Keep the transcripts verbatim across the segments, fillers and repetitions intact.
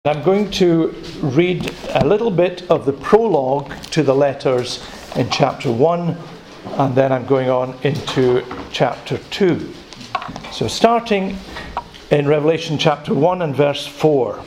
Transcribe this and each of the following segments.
I'm going to read a little bit of the prologue to the letters in chapter one, and then I'm going on into chapter two. So starting in Revelation chapter one and verse four.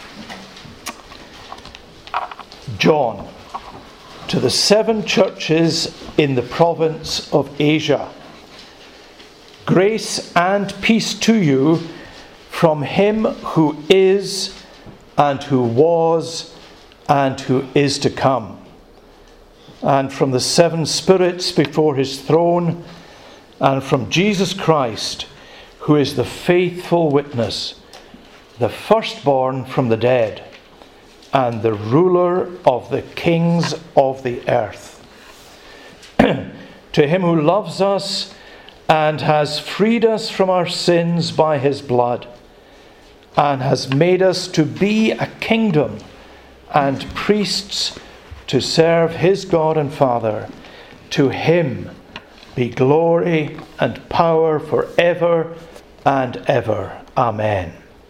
John, to the seven churches in the province of Asia, grace and peace to you from him who is, and who was, and who is to come, and from the seven spirits before his throne, and from Jesus Christ, who is the faithful witness, the firstborn from the dead, and the ruler of the kings of the earth. To him who loves us and has freed us from our sins by his blood, and has made us to be a kingdom and priests to serve his God and Father. To him be glory and power forever and ever. Amen.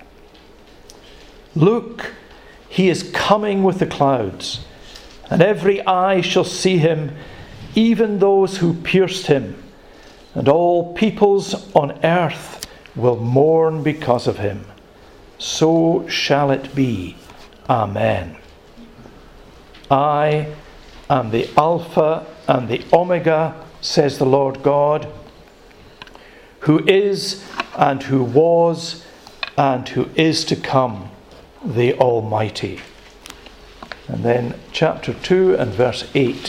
Look, he is coming with the clouds, and every eye shall see him, even those who pierced him, and all peoples on earth will mourn because of him. So shall it be. Amen. I am the Alpha and the Omega, says the Lord God, who is and who was and who is to come, the Almighty. And then chapter two and verse eight.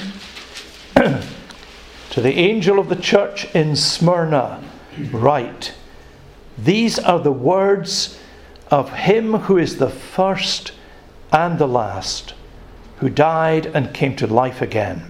To the angel of the church in Smyrna write, these are the words of him who is the first and the last, who died and came to life again.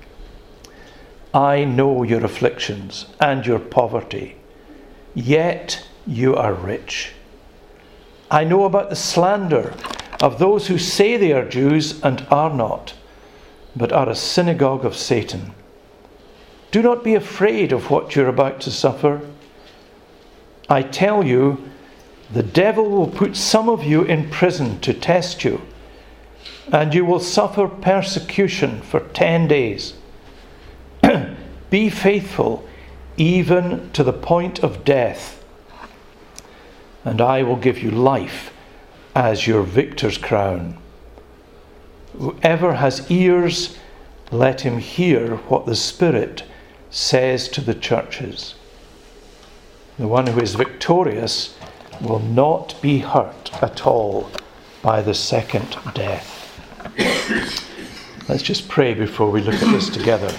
I know your afflictions and your poverty, yet you are rich. I know about the slander of those who say they are Jews and are not, but are a synagogue of Satan. Do not be afraid of what you're about to suffer. I tell you, the devil will put some of you in prison to test you, and you will suffer persecution for ten days. Be faithful even to the point of death, and I will give you life as your victor's crown. Whoever has ears, let him hear what the Spirit says to the churches. The one who is victorious will not be hurt at all by the second death. Let's just pray before we look at this together.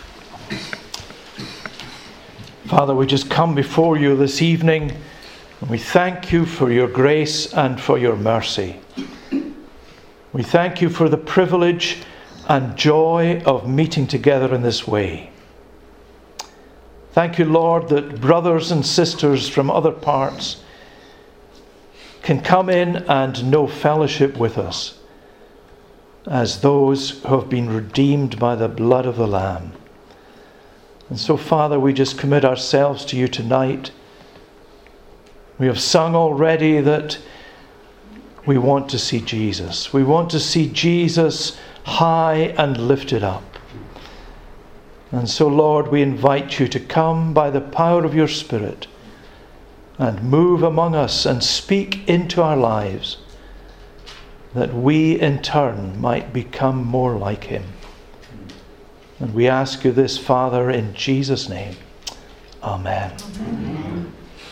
Father, we just come before you this evening, and we thank you for your grace and for your mercy. We thank you for the privilege and joy of meeting together in this way. Thank you, Lord, that brothers and sisters from other parts can come in and know fellowship with us as those who have been redeemed by the blood of the Lamb. And so, Father, we just commit ourselves to you tonight. We have sung already that we want to see Jesus. We want to see Jesus high and lifted up. And so, Lord, we invite you to come by the power of your Spirit and move among us and speak into our lives, that we in turn might become more like him. And we ask you this, Father, in Jesus' name. Amen. Amen.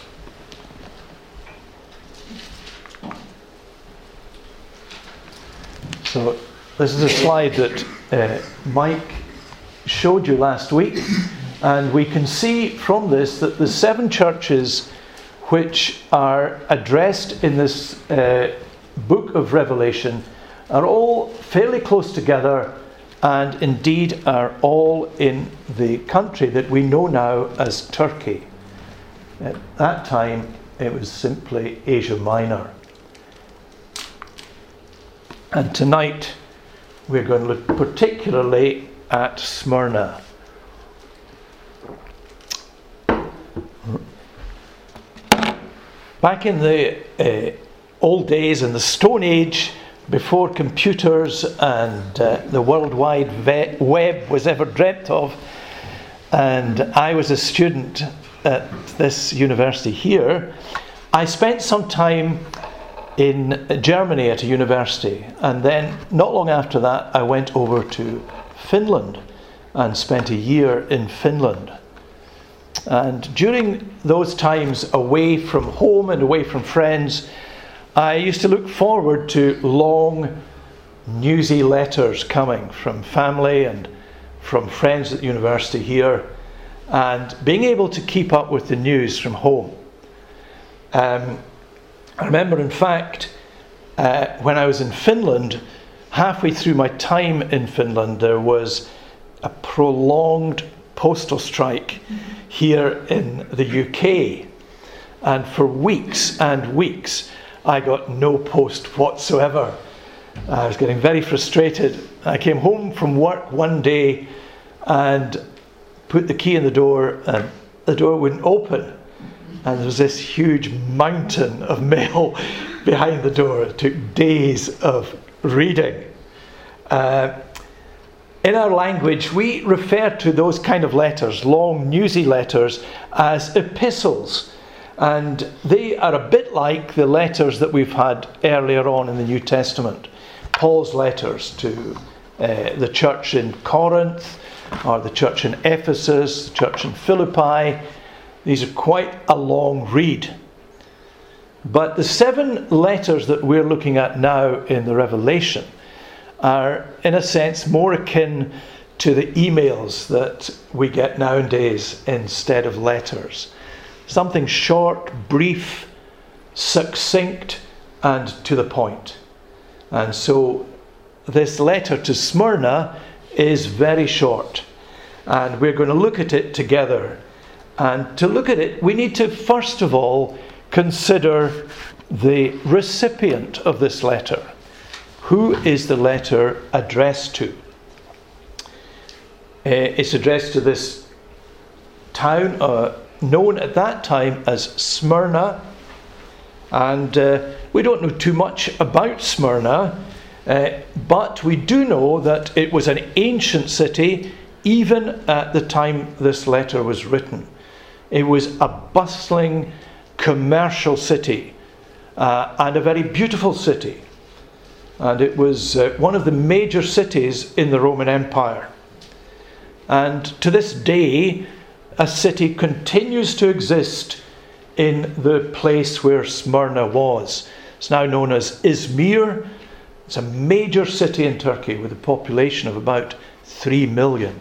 So this is a slide that uh, Mike showed you last week, and we can see from this that the seven churches which are addressed in this uh, book of Revelation are all fairly close together, and indeed are all in the country that we know now as Turkey. At that time it was simply Asia Minor. And tonight we're going to look particularly at Smyrna. Back in the uh, old days in the Stone Age, before computers and uh, the World Wide ve- Web was ever dreamt of. And I was a student at this university here. I spent some time in Germany at a university, and then not long after that I went over to Finland and spent a year in Finland. And during those times away from home and away from friends, I used to look forward to long, newsy letters coming from family and from friends at the university here, and being able to keep up with the news from home. Um, I remember, in fact, uh, when I was in Finland, halfway through my time in Finland, there was a prolonged postal strike here in the U K. And for weeks and weeks, I got no post whatsoever. I was getting very frustrated. I came home from work one day and put the key in the door, and the door wouldn't open. And there was this huge mountain of mail behind the door. It took days of reading. Uh, in our language, we refer to those kind of letters, long, newsy letters, as epistles. And they are a bit like the letters that we've had earlier on in the New Testament. Paul's letters to uh, the church in Corinth, or the church in Ephesus, the church in Philippi. These are quite a long read. But the seven letters that we're looking at now in the Revelation are, in a sense, more akin to the emails that we get nowadays instead of letters. Something short, brief, succinct, and to the point. And so this letter to Smyrna is very short. And we're going to look at it together. And to look at it, we need to first of all consider the recipient of this letter. Who is the letter addressed to? Uh, it's addressed to this town, uh, known at that time as Smyrna. And uh, we don't know too much about Smyrna, uh, but we do know that it was an ancient city even at the time this letter was written. It was a bustling commercial city uh, and a very beautiful city. And it was uh, one of the major cities in the Roman Empire. And to this day, a city continues to exist in the place where Smyrna was. It's now known as Izmir. It's a major city in Turkey with a population of about three million.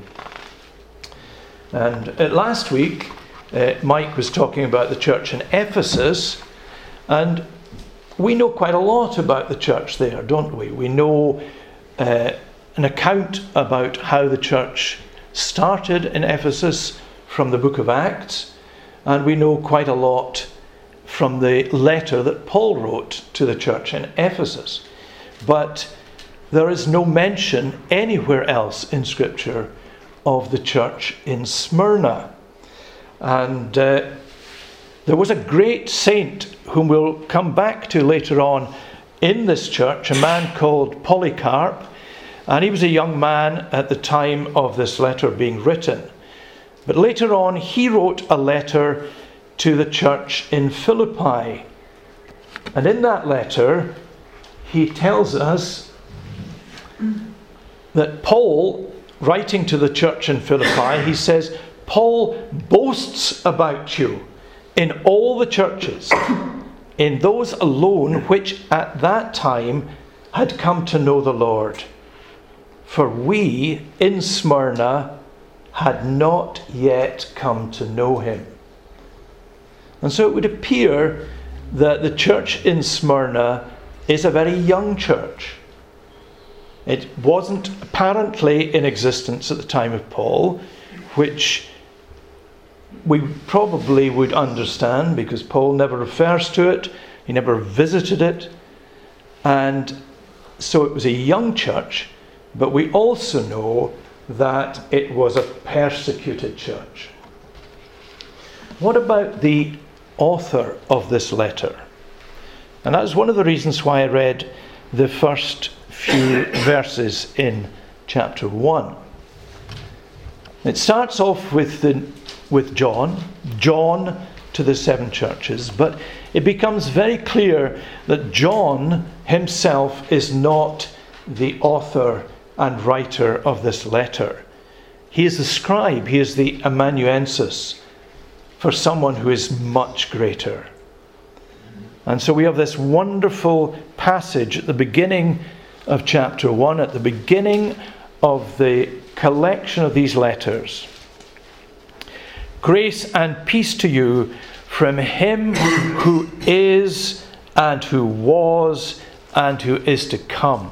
And uh, last week, uh, Mike was talking about the church in Ephesus, and we know quite a lot about the church there, don't we? We know uh, an account about how the church started in Ephesus from the book of Acts, and we know quite a lot from the letter that Paul wrote to the church in Ephesus. But there is no mention anywhere else in Scripture of the church in Smyrna. And uh, there was a great saint whom we'll come back to later on in this church, a man called Polycarp, and he was a young man at the time of this letter being written. But later on, he wrote a letter to the church in Philippi. And in that letter, he tells us that Paul, writing to the church in Philippi, he says, Paul boasts about you in all the churches, in those alone which at that time had come to know the Lord. For we in Smyrna had not yet come to know him. And so it would appear that the church in Smyrna is a very young church. It wasn't apparently in existence at the time of Paul, which we probably would understand because Paul never refers to it, he never visited it, and so it was a young church, but we also know that it was a persecuted church. What about the author of this letter? And that was one of the reasons why I read the first few verses in chapter one. It starts off with the, with John, John to the seven churches, but it becomes very clear that John himself is not the author and writer of this letter. He is the scribe, he is the amanuensis for someone who is much greater. And so we have this wonderful passage at the beginning of chapter one, at the beginning of the collection of these letters. Grace and peace to you from him who is and who was and who is to come.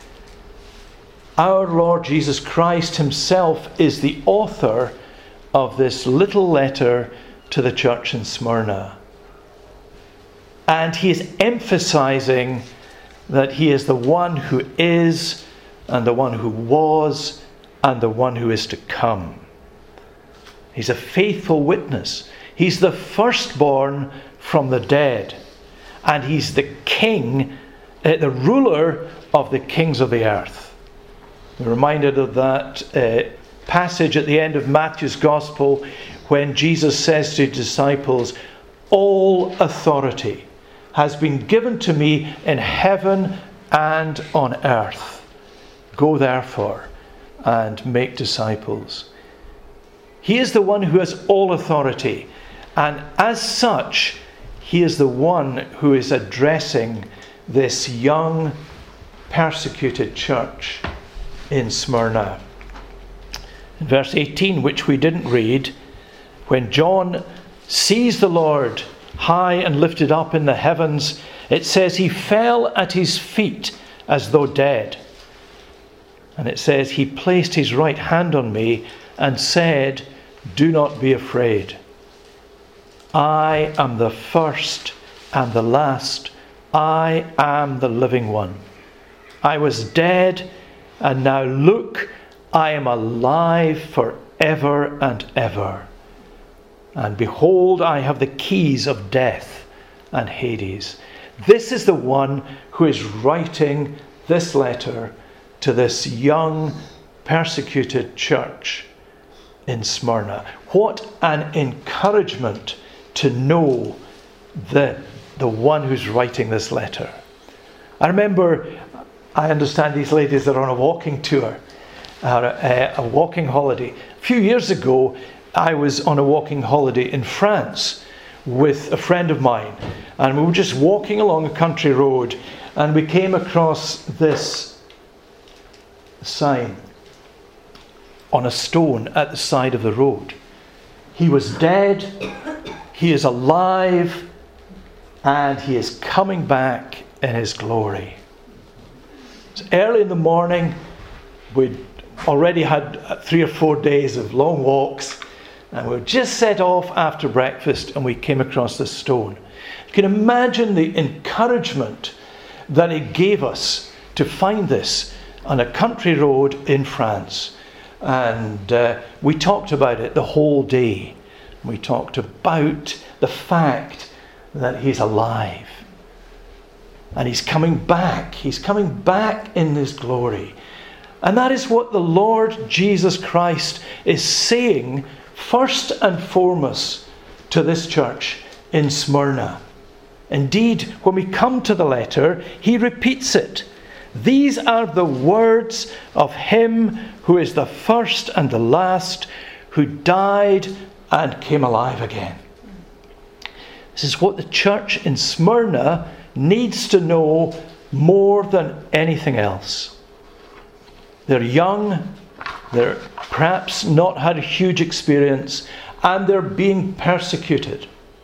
Our Lord Jesus Christ himself is the author of this little letter to the church in Smyrna. And he is emphasizing that he is the one who is and the one who was and the one who is to come. He's a faithful witness. He's the firstborn from the dead. And he's the king, uh, the ruler of the kings of the earth. We're reminded of that uh, passage at the end of Matthew's Gospel when Jesus says to his disciples, all authority has been given to me in heaven and on earth. Go therefore and make disciples. He is the one who has all authority, and as such, he is the one who is addressing this young, persecuted church in Smyrna. In verse eighteen, which we didn't read, when John sees the Lord high and lifted up in the heavens, it says he fell at his feet as though dead. And it says he placed his right hand on me and said, do not be afraid. I am the first and the last. I am the living one. I was dead, and now look, I am alive forever and ever. And behold, I have the keys of death and Hades. This is the one who is writing this letter to this young, persecuted church in Smyrna. What an encouragement to know the, the one who's writing this letter. I remember, I understand these ladies are on a walking tour, uh, a, a walking holiday. A few years ago, I was on a walking holiday in France with a friend of mine, and we were just walking along a country road, and we came across this sign on a stone at the side of the road. He was dead, he is alive, and he is coming back in his glory. It's early in the morning. We'd already had three or four days of long walks, and we just set off after breakfast, and we came across this stone. You can imagine the encouragement that it gave us to find this on a country road in France. And uh, we talked about it the whole day. We talked about the fact that he's alive. And he's coming back. He's coming back in his glory. And that is what the Lord Jesus Christ is saying first and foremost to this church in Smyrna. Indeed, when we come to the letter, he repeats it. These are the words of him who is the first and the last, who died and came alive again. This is what the church in Smyrna needs to know more than anything else. They're young, they're perhaps not had a huge experience, and they're being persecuted.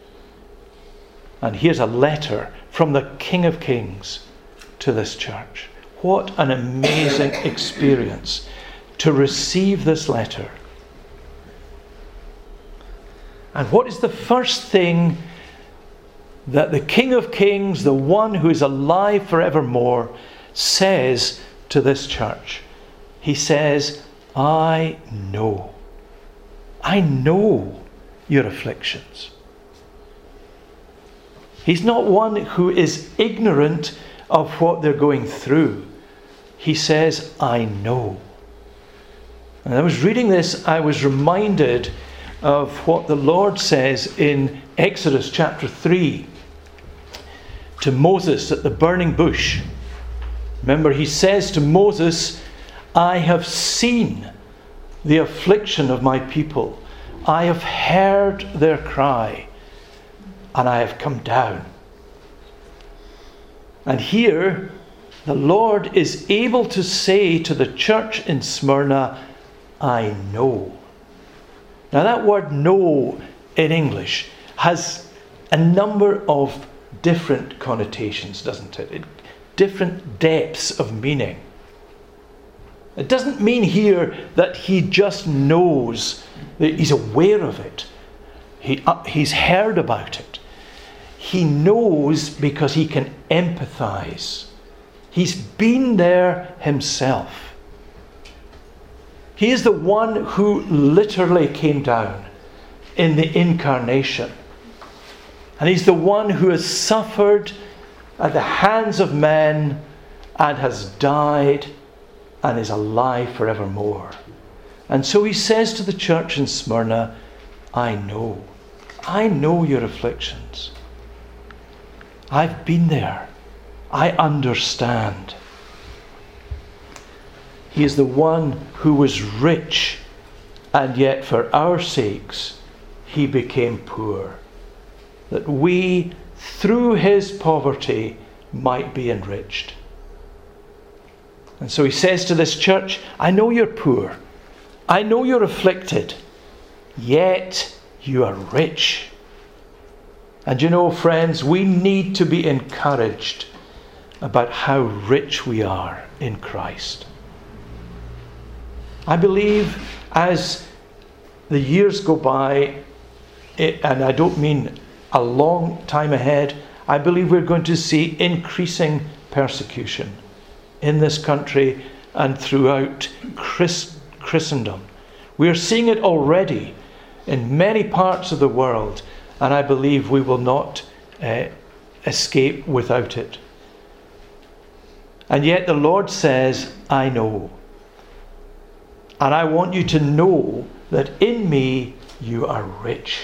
And here's a letter from the King of Kings to this church. What an amazing experience to receive this letter. And what is the first thing that the King of Kings, the one who is alive forevermore, says to this church? He says, I know. I know your afflictions. He's not one who is ignorant of what they're going through. He says, I know. And I was reading this, I was reminded of what the Lord says in Exodus chapter three to Moses at the burning bush. Remember, he says to Moses, I have seen the affliction of my people. I have heard their cry, and I have come down. And here, the Lord is able to say to the church in Smyrna, I know. Now that word know in English has a number of different connotations, doesn't it? it different depths of meaning. It doesn't mean here that he just knows, that he's aware of it. He, uh, he's heard about it. He knows because he can empathize. He's been there himself. He is the one who literally came down in the incarnation. And he's the one who has suffered at the hands of men and has died and is alive forevermore. And so he says to the church in Smyrna, I know. I know your afflictions. I've been there. I understand. He is the one who was rich, and yet for our sakes he became poor, that we, through his poverty, might be enriched. And so he says to this church, I know you're poor. I know you're afflicted. Yet you are rich. And you know, friends, we need to be encouraged about how rich we are in Christ. I believe as the years go by, it, and I don't mean a long time ahead, I believe we're going to see increasing persecution in this country and throughout Christ, Christendom. We are seeing it already in many parts of the world, and I believe we will not uh, escape without it. And yet the Lord says, I know. And I want you to know that in me you are rich.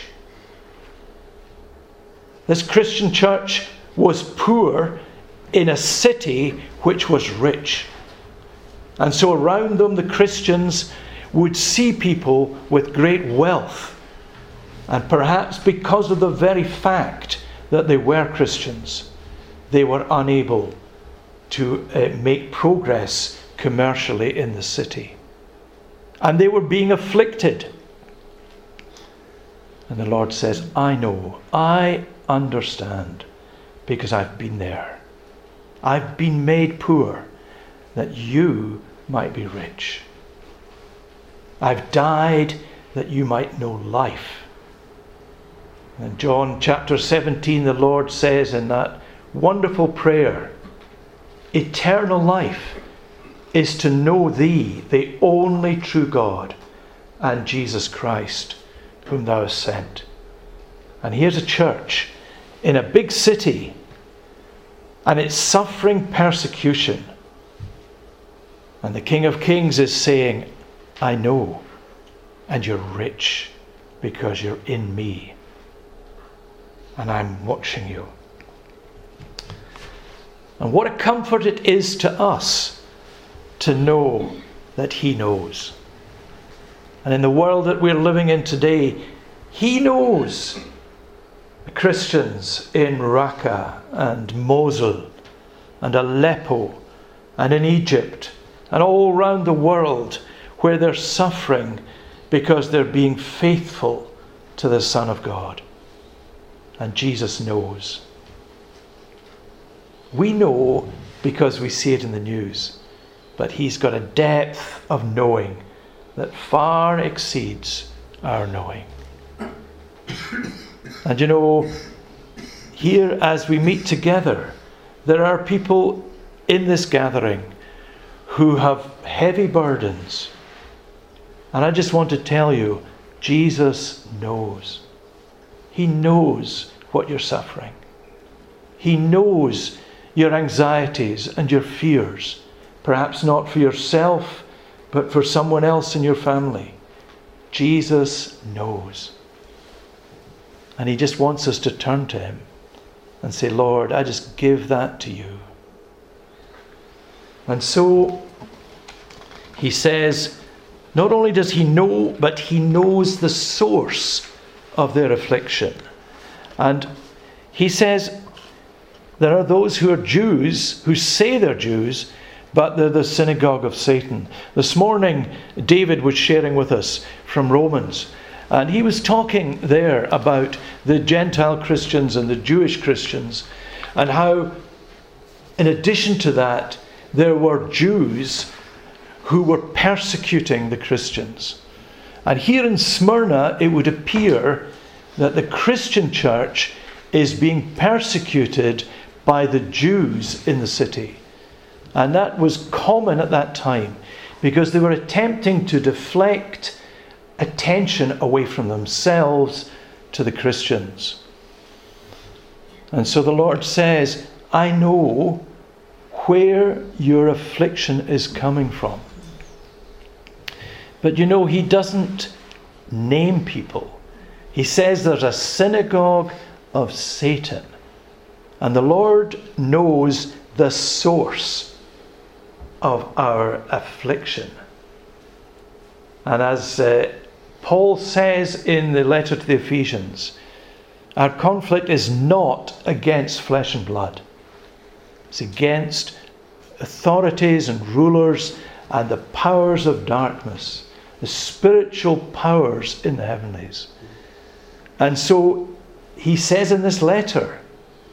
This Christian church was poor in a city which was rich. And so around them the Christians would see people with great wealth. And perhaps because of the very fact that they were Christians, they were unable to uh, make progress commercially in the city. And they were being afflicted. And the Lord says, I know, I understand, because I've been there. I've been made poor that you might be rich. I've died that you might know life. In John chapter seventeen, the Lord says in that wonderful prayer, eternal life is to know thee, the only true God, and Jesus Christ, whom thou hast sent. And here's a church in a big city, and it's suffering persecution. And the King of Kings is saying, I know, and you're rich because you're in me. And I'm watching you. And what a comfort it is to us to know that he knows. And in the world that we're living in today, he knows the Christians in Raqqa and Mosul and Aleppo and in Egypt and all around the world where they're suffering because they're being faithful to the Son of God. And Jesus knows. We know because we see it in the news. But he's got a depth of knowing that far exceeds our knowing. And you know, here as we meet together, there are people in this gathering who have heavy burdens. And I just want to tell you, Jesus knows. He knows what you're suffering. He knows your anxieties and your fears. Perhaps not for yourself, but for someone else in your family. Jesus knows. And he just wants us to turn to him and say, Lord, I just give that to you. And so he says, not only does he know, but he knows the source of their affliction. And he says, there are those who are Jews, who say they're Jews, but they're the synagogue of Satan. This morning, David was sharing with us from Romans, and he was talking there about the Gentile Christians and the Jewish Christians, and how, in addition to that, there were Jews who were persecuting the Christians. And here in Smyrna, it would appear that the Christian church is being persecuted by the Jews in the city. And that was common at that time, because they were attempting to deflect attention away from themselves to the Christians. And so the Lord says, I know where your affliction is coming from. But you know, he doesn't name people. He says there's a synagogue of Satan. And the Lord knows the source of our affliction. And as uh, Paul says in the letter to the Ephesians, our conflict is not against flesh and blood. It's against authorities and rulers and the powers of darkness, the spiritual powers in the heavenlies. And so he says in this letter,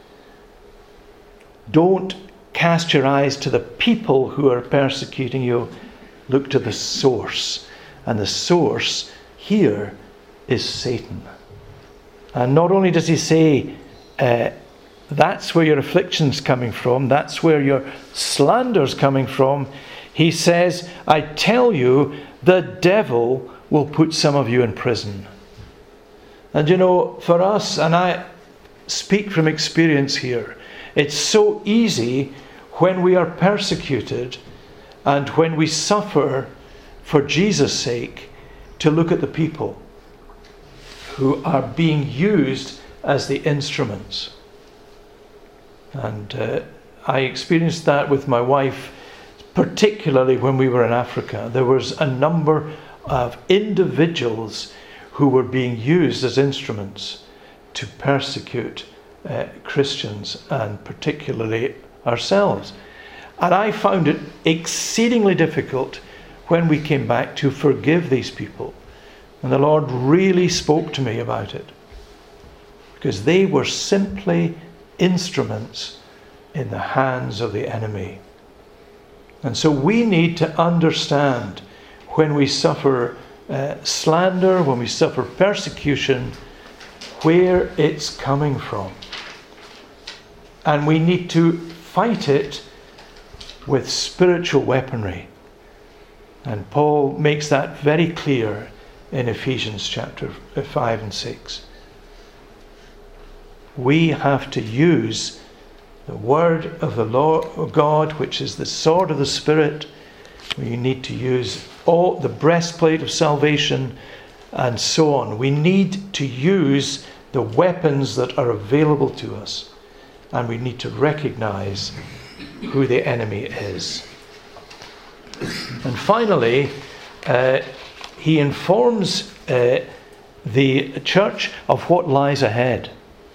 don't cast your eyes to the people who are persecuting you. Look to the source. And the source here is Satan. And not only does he say, uh, that's where your affliction's coming from, that's where your slander's coming from, he says, I tell you, the devil will put some of you in prison. And you know, for us, and I speak from experience here, it's so easy when we are persecuted and when we suffer for Jesus' sake to look at the people who are being used as the instruments. And uh, I experienced that with my wife, particularly when we were in Africa. There was a number of individuals who were being used as instruments to persecute uh, Christians, and particularly ourselves. And I found it exceedingly difficult when we came back to forgive these people. And the Lord really spoke to me about it, because they were simply instruments in the hands of the enemy. And so we need to understand when we suffer uh, slander, when we suffer persecution, where it's coming from. And we need to fight it with spiritual weaponry. And Paul makes that very clear in Ephesians chapter five and six. We have to use the word of the Lord God, which is the sword of the Spirit. We need to use all the breastplate of salvation and so on. We need to use the weapons that are available to us. And we need to recognize who the enemy is. And finally, uh, he informs uh, the church of what lies ahead.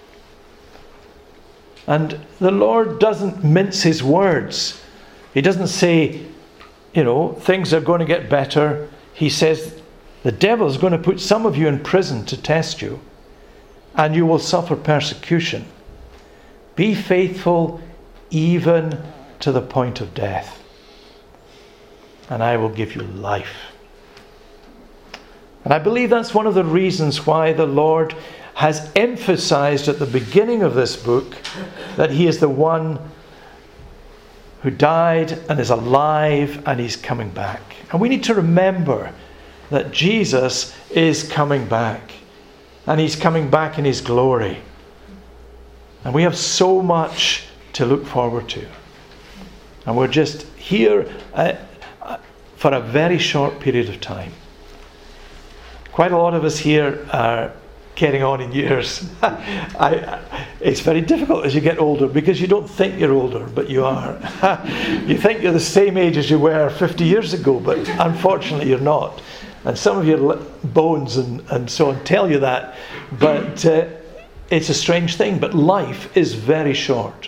And the Lord doesn't mince his words. He doesn't say, you know, things are going to get better. He says, the devil is going to put some of you in prison to test you, and you will suffer persecution. Be faithful even to the point of death, and I will give you life. And I believe that's one of the reasons why the Lord has emphasized at the beginning of this book that he is the one who died and is alive and he's coming back. And we need to remember that Jesus is coming back, and he's coming back in his glory. And we have so much to look forward to. And we're just here uh, uh, for a very short period of time. Quite a lot of us here are getting on in years. I, I, it's very difficult as you get older because you don't think you're older, but you are. You think you're the same age as you were fifty years ago, but unfortunately you're not. And some of your bones and, and so on tell you that. But uh, it's a strange thing, but life is very short.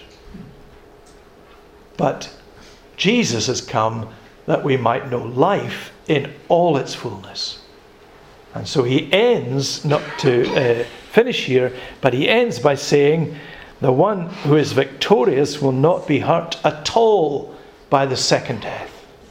But Jesus has come that we might know life in all its fullness. And so he ends, not to uh, finish here, but he ends by saying, the one who is victorious will not be hurt at all by the second death.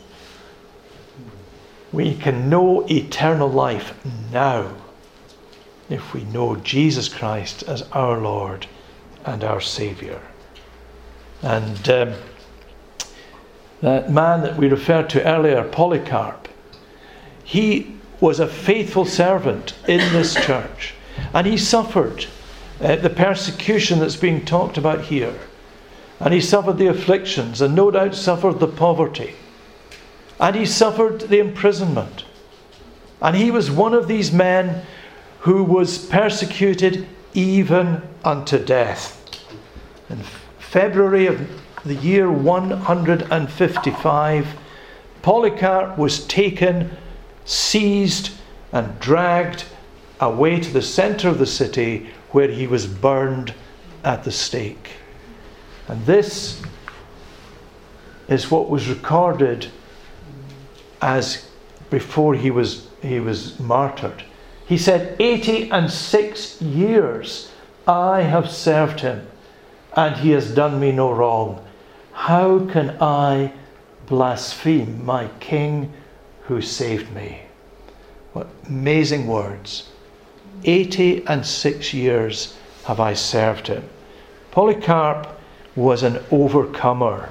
We can know eternal life now if we know Jesus Christ as our Lord and our Saviour. And um, that man that we referred to earlier, Polycarp, he was a faithful servant in this church, and he suffered uh, the persecution that's being talked about here, and he suffered the afflictions, and no doubt suffered the poverty, and he suffered the imprisonment, and he was one of these men who was persecuted even unto death. In February of the year one hundred fifty-five, Polycarp was taken, seized and dragged away to the centre of the city, where he was burned at the stake. And this is what was recorded as before he was he was martyred. He said, eighty and six years I have served him, and he has done me no wrong. How can I blaspheme my King who saved me? What amazing words. eighty and six years have I served him. Polycarp was an overcomer.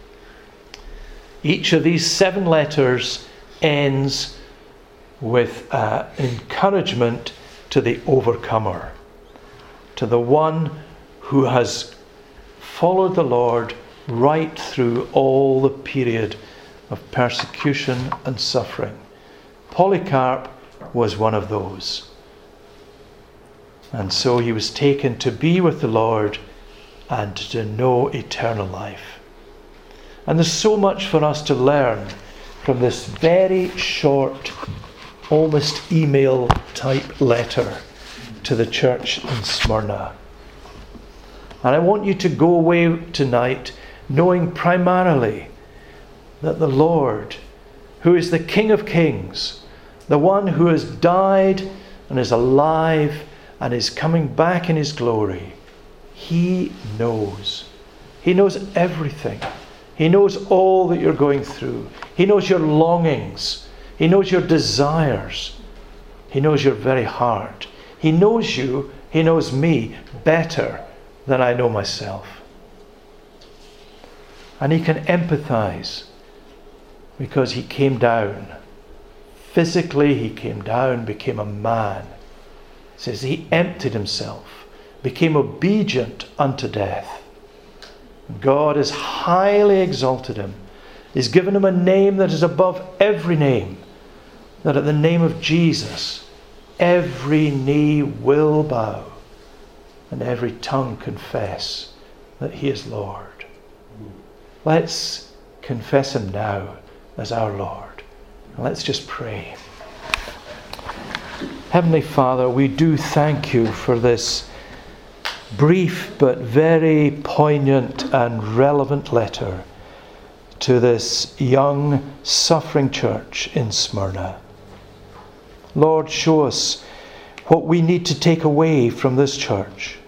Each of these seven letters ends with uh, encouragement to the overcomer, to the one who has followed the Lord right through all the period of persecution and suffering. Polycarp was one of those. And so he was taken to be with the Lord and to know eternal life. And there's so much for us to learn from this very short, almost email type letter to the church in Smyrna. And I want you to go away tonight knowing primarily that the Lord, who is the King of Kings, the one who has died and is alive and is coming back in his glory, he knows. He knows everything. He knows all that you're going through. He knows your longings. He knows your desires. He knows your very heart. He knows you, he knows me better than I know myself. And he can empathize because he came down. Physically, he came down, became a man. It says he emptied himself, became obedient unto death. God has highly exalted him. He's given him a name that is above every name, that at the name of Jesus, every knee will bow and every tongue confess that he is Lord. Let's confess him now as our Lord. And let's just pray. Heavenly Father, we do thank you for this brief but very poignant and relevant letter to this young, suffering church in Smyrna. Lord, show us what we need to take away from this church.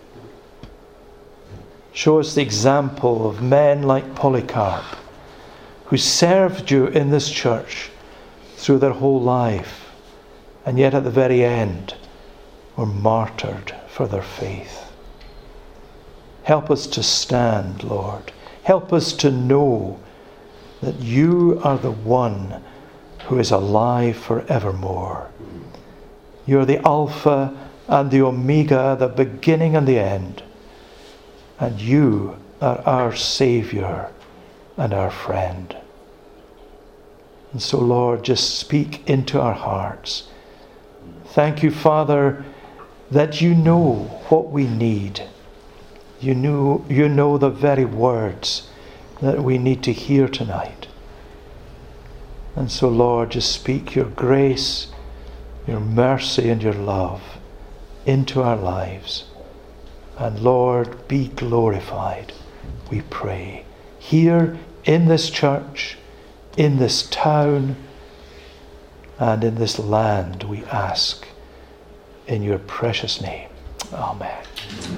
Show us the example of men like Polycarp, who served you in this church through their whole life, and yet at the very end were martyred for their faith. Help us to stand, Lord. Help us to know that you are the one who is alive forevermore. You are the Alpha and the Omega, the beginning and the end. And you are our Saviour and our friend. And so, Lord, just speak into our hearts. Thank you, Father, that you know what we need. You know, you know the very words that we need to hear tonight. And so, Lord, just speak your grace, your mercy and your love into our lives. And Lord, be glorified, we pray, here in this church, in this town, and in this land, we ask in your precious name. Amen.